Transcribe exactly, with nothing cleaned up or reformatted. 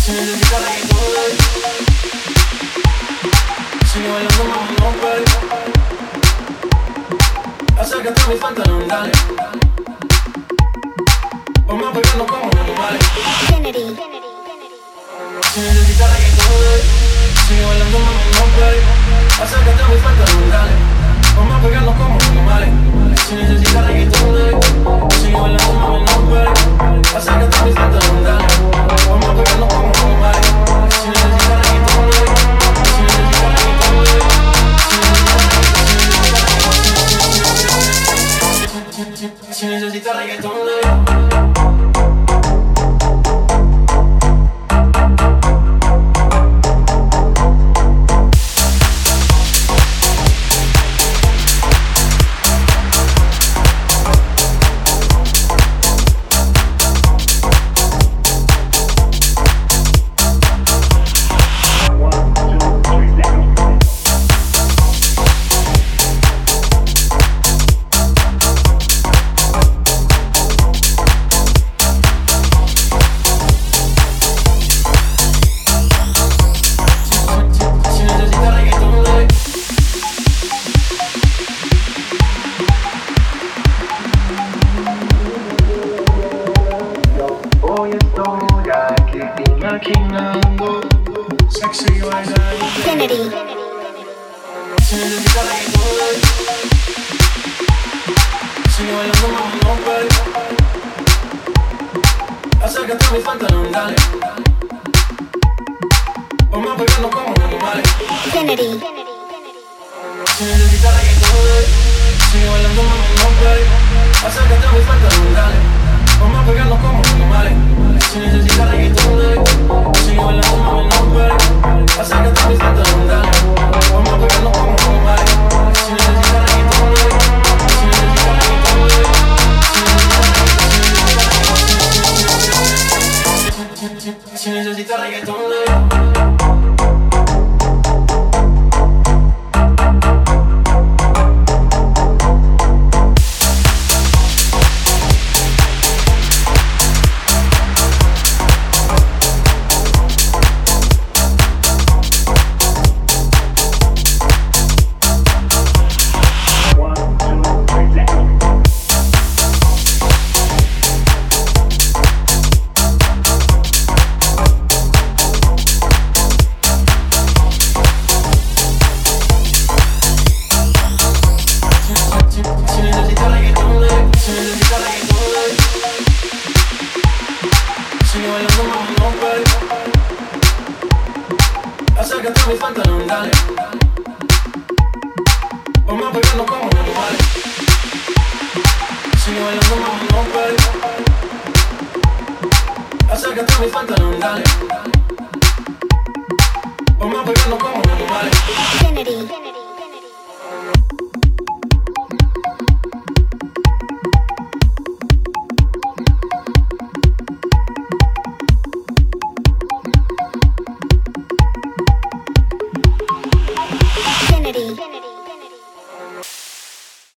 Si necesitas reggaetón, sigue bailando, mami, no pare. Acércate a mis pantalones, dale. Vamos a pegarnos como animales. Kennedy. Si necesitas reggaetón, sigue bailando, mami, no pare. Acércate a mis pantalones, dale. Vamos a pegarnos como animales. Si necesitas reggaetón, sigue bailando, mami, no pare. Acércate a mis pantalones, dale. Vamos a pegarnos como animales. Si necesitas reggaetón, si necesitas reggaetón, si necesitas reggaetón. Kennedy. Si necesitas reggaetón, sigue bailando, mami, no pare. Acércate a mis pantalones, dale. Vamos a pegarnos como animales. Kennedy. Si necesitas reggaetón, sigue bailando, mami, no pare. Acércate a mis pantalones, dale. Vamos a pegarnos como animales. Si necesitas reggaetón, sigue bailando, mami, no pare. Acércate a mis pantalones, dale. Vamos a pegarnos como animales. Si necesitas reggaetón, si necesitas reggaetón, si necesitas reggaetón. Acércate a mis pantalones, dale. Vamos a pegarnos como animales. Sigue bailando, mami, no